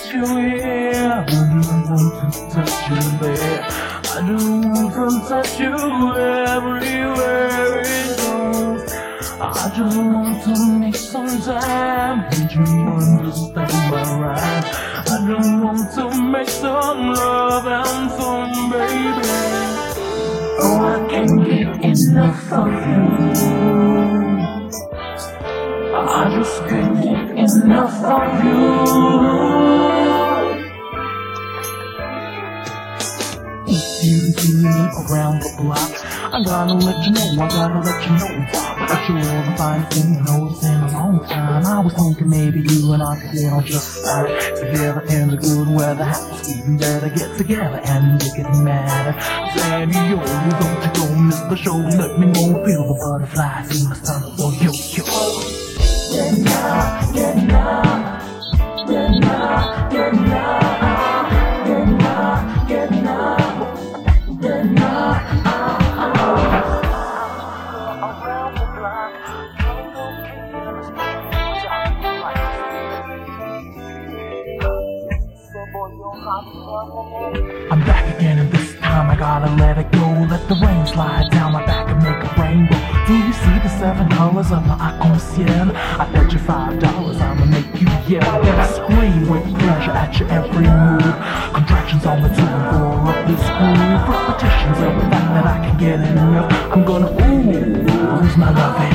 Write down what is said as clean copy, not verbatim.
touch you here. I don't want to touch you there. I don't want to touch you everywhere it goes. I just want to make some time. Can't you understand my rhyme? I just want to make some love and some baby. Oh, I can't get enough of you. I just can't get enough of you. If you see me around the block, I gotta let you know, that you're the finest thing I know it's in a long time. I was thinking maybe you and I could get on just right together in the good weather. House even better get together and make it matter. Sandy, yo, don't you go miss the show. Let me know, feel the butterflies in my stomach. Oh, yo, yo. Get now, get now, get now, get now, get now, get now, get now. I'm back again and this time I gotta let it go. Let the rain slide down my back and make a rainbow. Do you see the 7 colors of my arc-en-ciel? I bet you $5 I'ma make you yell. Then I scream with pleasure at your every move. Contractions on the 2 and 4 of this groove. Repetitions of the fact that I can get enough. I'm gonna lose my loving.